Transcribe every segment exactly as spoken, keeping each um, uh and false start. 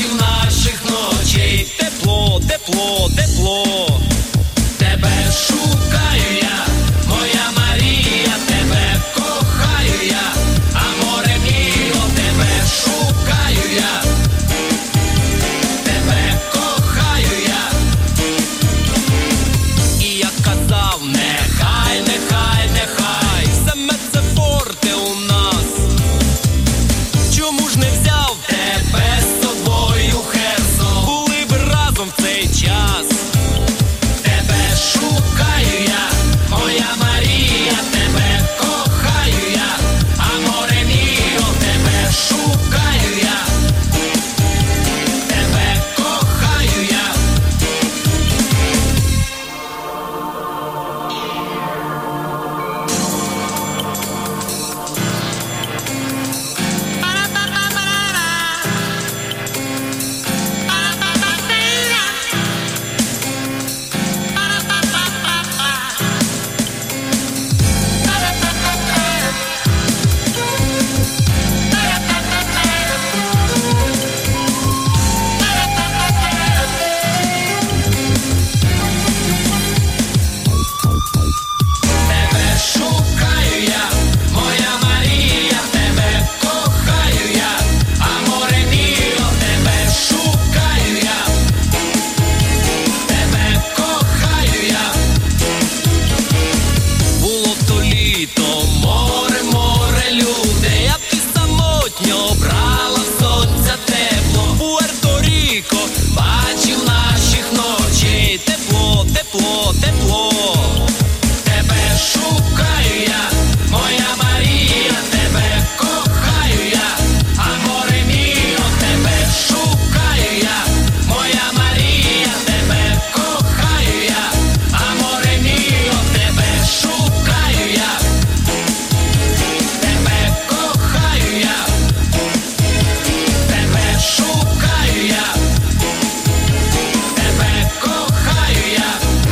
бачив наших ночей. Тепло, тепло, тепло. Тебе шукаю я, моя Марія, тебе кохаю я, аморе міо, тебе шукаю я, тебе кохаю я. І я казав, нехай, нехай, нехай, саме це форте у нас. Чому ж не взяв тебе з собою, Херсон? Були б разом в цей час. Тебе шукаю я, моя Марія, тебе кохаю я, аморе міо, тебе шукаю я, тебе кохаю я. Тебе шукаю я, моя Марія, тебе кохаю я, аморе міо, тебе шукаю я, тебе кохаю я. Було то літо, море, море, люди, а ти самотньо брала в сонця тепло. Пуерто-Ріко, бачив наших ночей. Тепло, тепло, тепло. Тебе шукаю я, моя Марія, тебе кохаю я, аморе міо, тебе шукаю я, моя Марія, тебе кохаю я, аморе міо, тебе шукаю я, тебе кохаю я, тебе шукаю я, тебе кохаю я.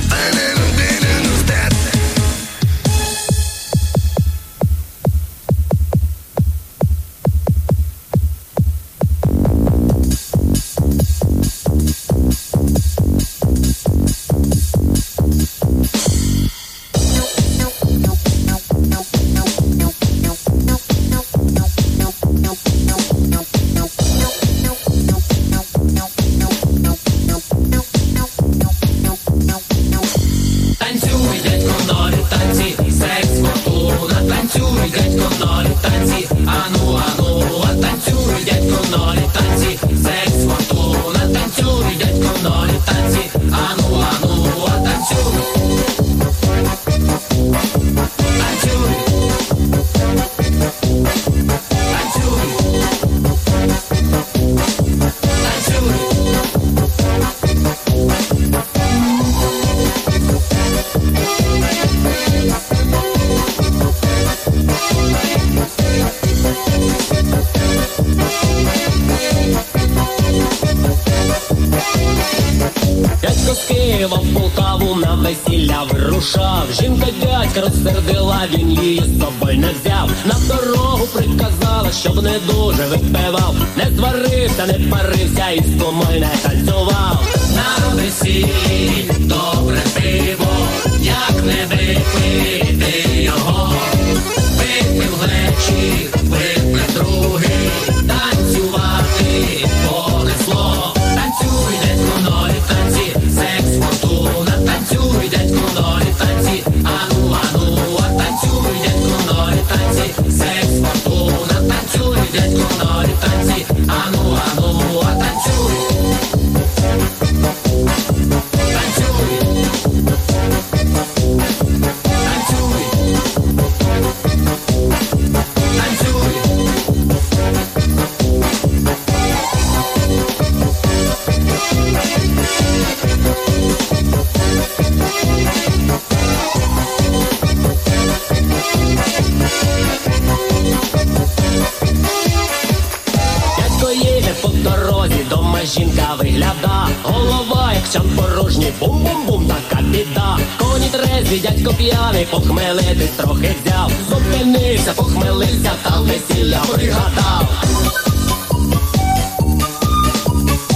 Танцюй, дядько, ноль танці, секс, фортуна. Танцюй, дядько, ноль танці, ану, ану. А танцюй, дядько, ноль танці, секс, фортуна. Танцюй, дядько, ноль танці, ану, ану. А танцюй, танцюй, танцюй, дядько з Києва в Полтаву на весілля вирушав. Жінка дядька розсердила, він її з собою не взяв. На дорогу приказала, щоб не дуже випивав. Не зварився, не парився і з кумою не танцював. На весіллі добре пиво, як не випити його. Випив глечик, випив другий, танцювати понесло. Танцюй, дядько, ноль танці, секс, фортуна. Танцюй, дядько, ноль танці, ану, ану. А танцюй, дядько, ноль танці, секс, фортуна. Танцюй, дядько, ноль танці, ану, ану. А танцюй, танцюй, танцюй, танцюй. Дядько їде по дорозі, дома жінка вигляда. Голова, як чан порожній, бум-бум-бум, така біда. Коні трезві, дядько п'яний, похмелитись трохи взяв. Зупинився, похмелився, та весілля пригадав.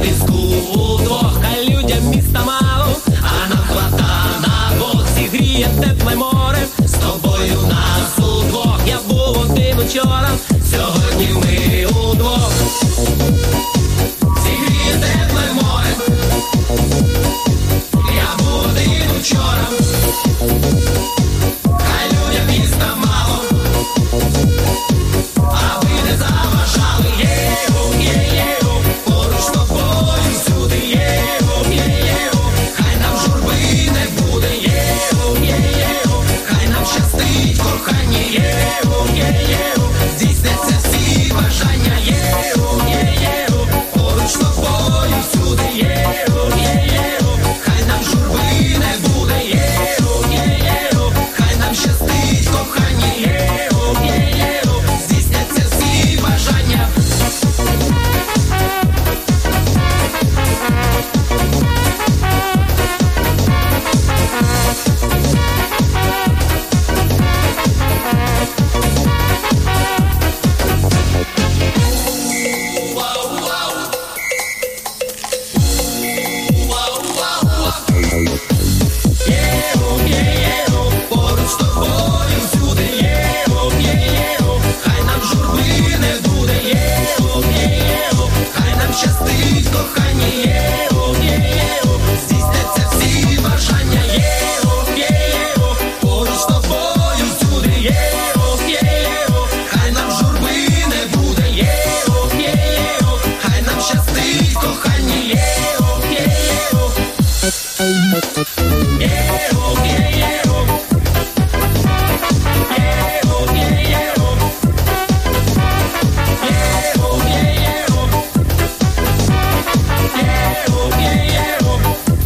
піску удвох, хай людям міста мало, а нам хвата на двох. Зігріє тепле море, з тобою нас удвох. Я був один учора, сьогодні ми удвох. Зігріє тепле море, я був один учора, хай людям міста мало, а ви не заважали. Єу, є-єу, поруч з тобою всюди. Єу, є-єу, хай нам журби не буде. Єу, є-єу, хай нам щастить кохання. Єу, є-єу, здійсняться всі бажання. Єу, є-єу, поруч з тобою всюди. Єу, є-єу, хай нам журби не буде. Єу, є-єу, хай нам щастить кохання. Єу, є-єу, здійсняться всі бажання. Єу, є-єу, поруч з тобою всюди. Єу, є-єу, хай нам журби не буде. Єу, є-єу, хай нам щастить кохання. Єу, є-єу, здійсняться всі бажання. Єу, є-єу, поруч з тобою всюди. Єу, є-єу, хай нам журби не буде. Єу, є-єу, хай нам щастить кохання. Єу, є-єу, єу, є-єу, єу, є-єу, єу, є-єу, єу, є-єу.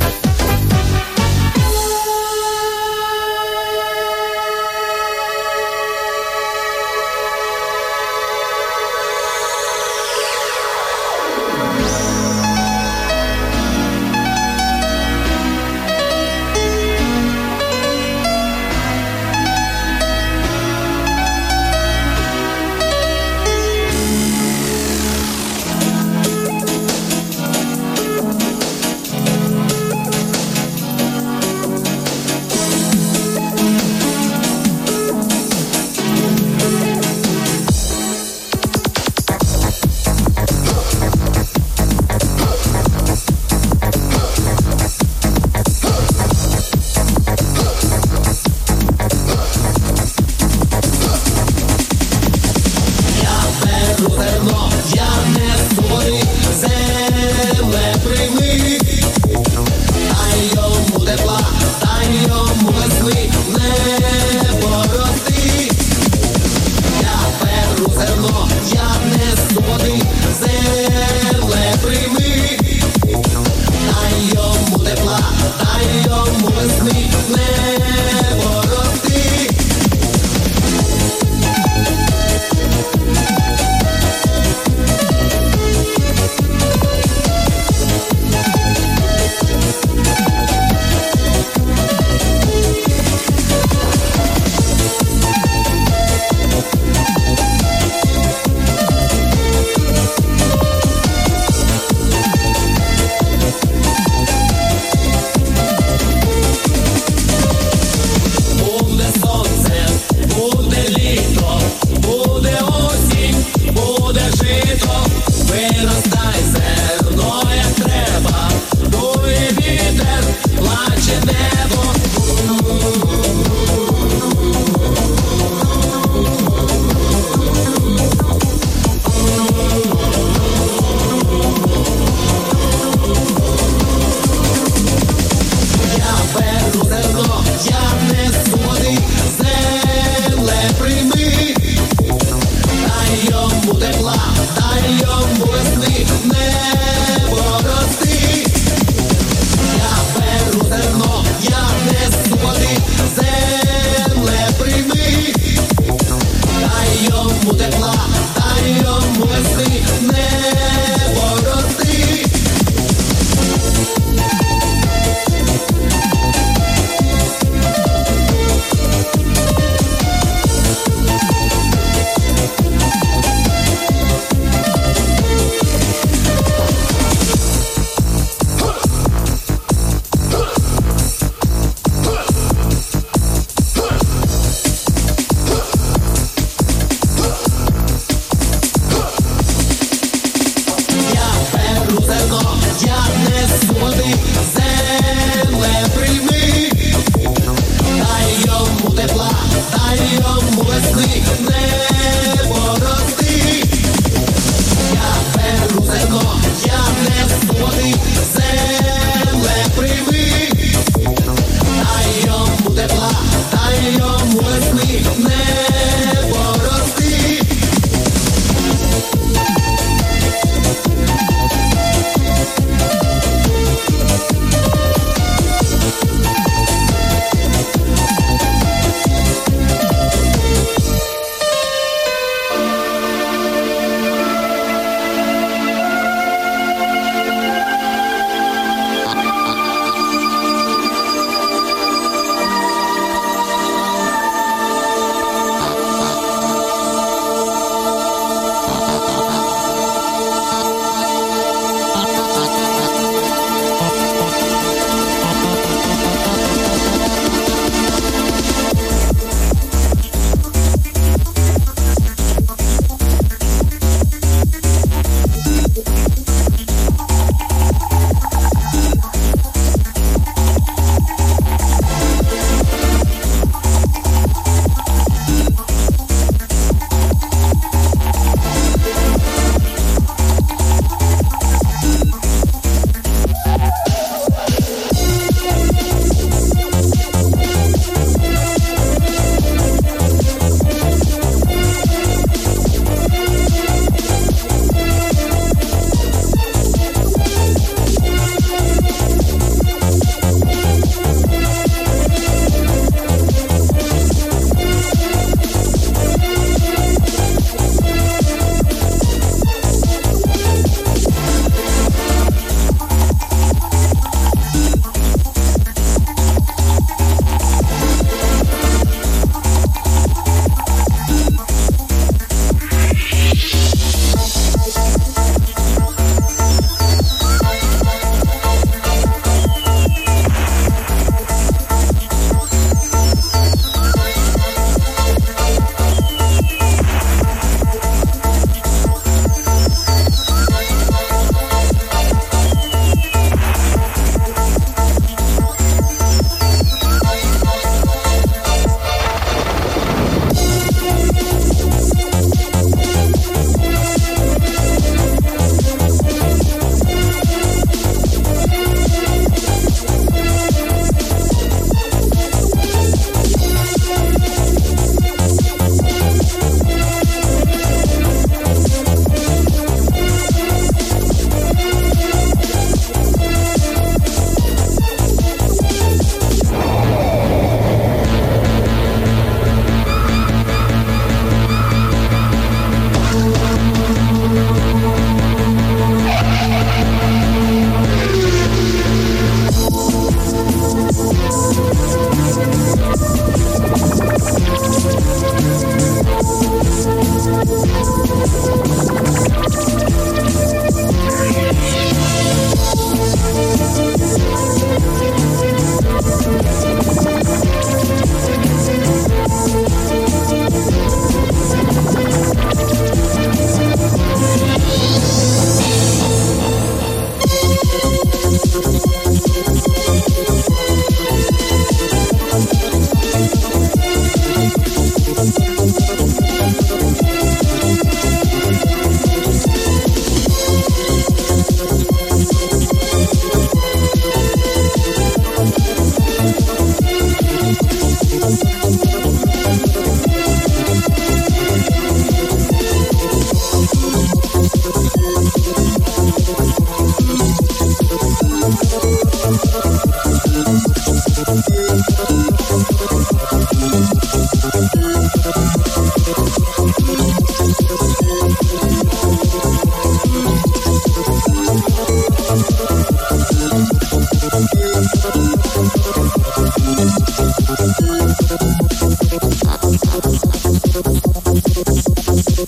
Зерно, я не створив, земле прийми, дай йому тепла, дай йому весни, небо рости. Я беру зерно, я несу води, земле прийми, дай йому тепла, дай йому весни, небо рости.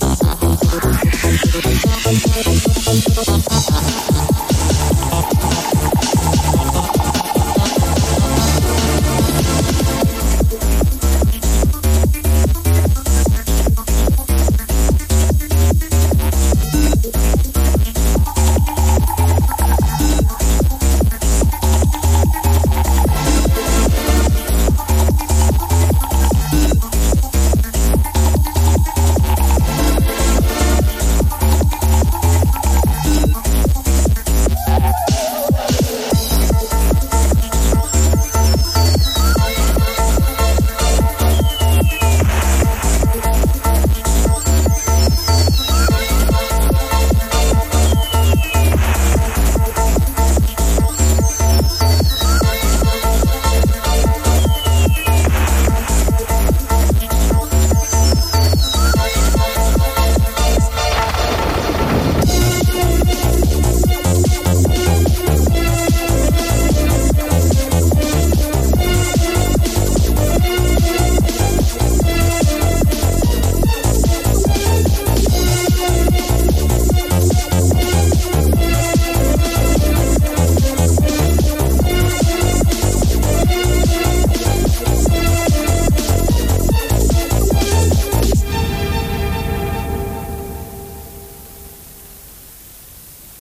Thank